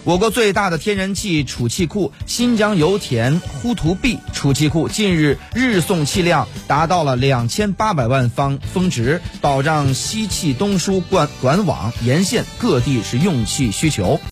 我国最大的天然气储气库新疆油田呼图壁储气库近日日送气量达到了2800万方峰值，保障西气东输管网沿线各地是用气需求。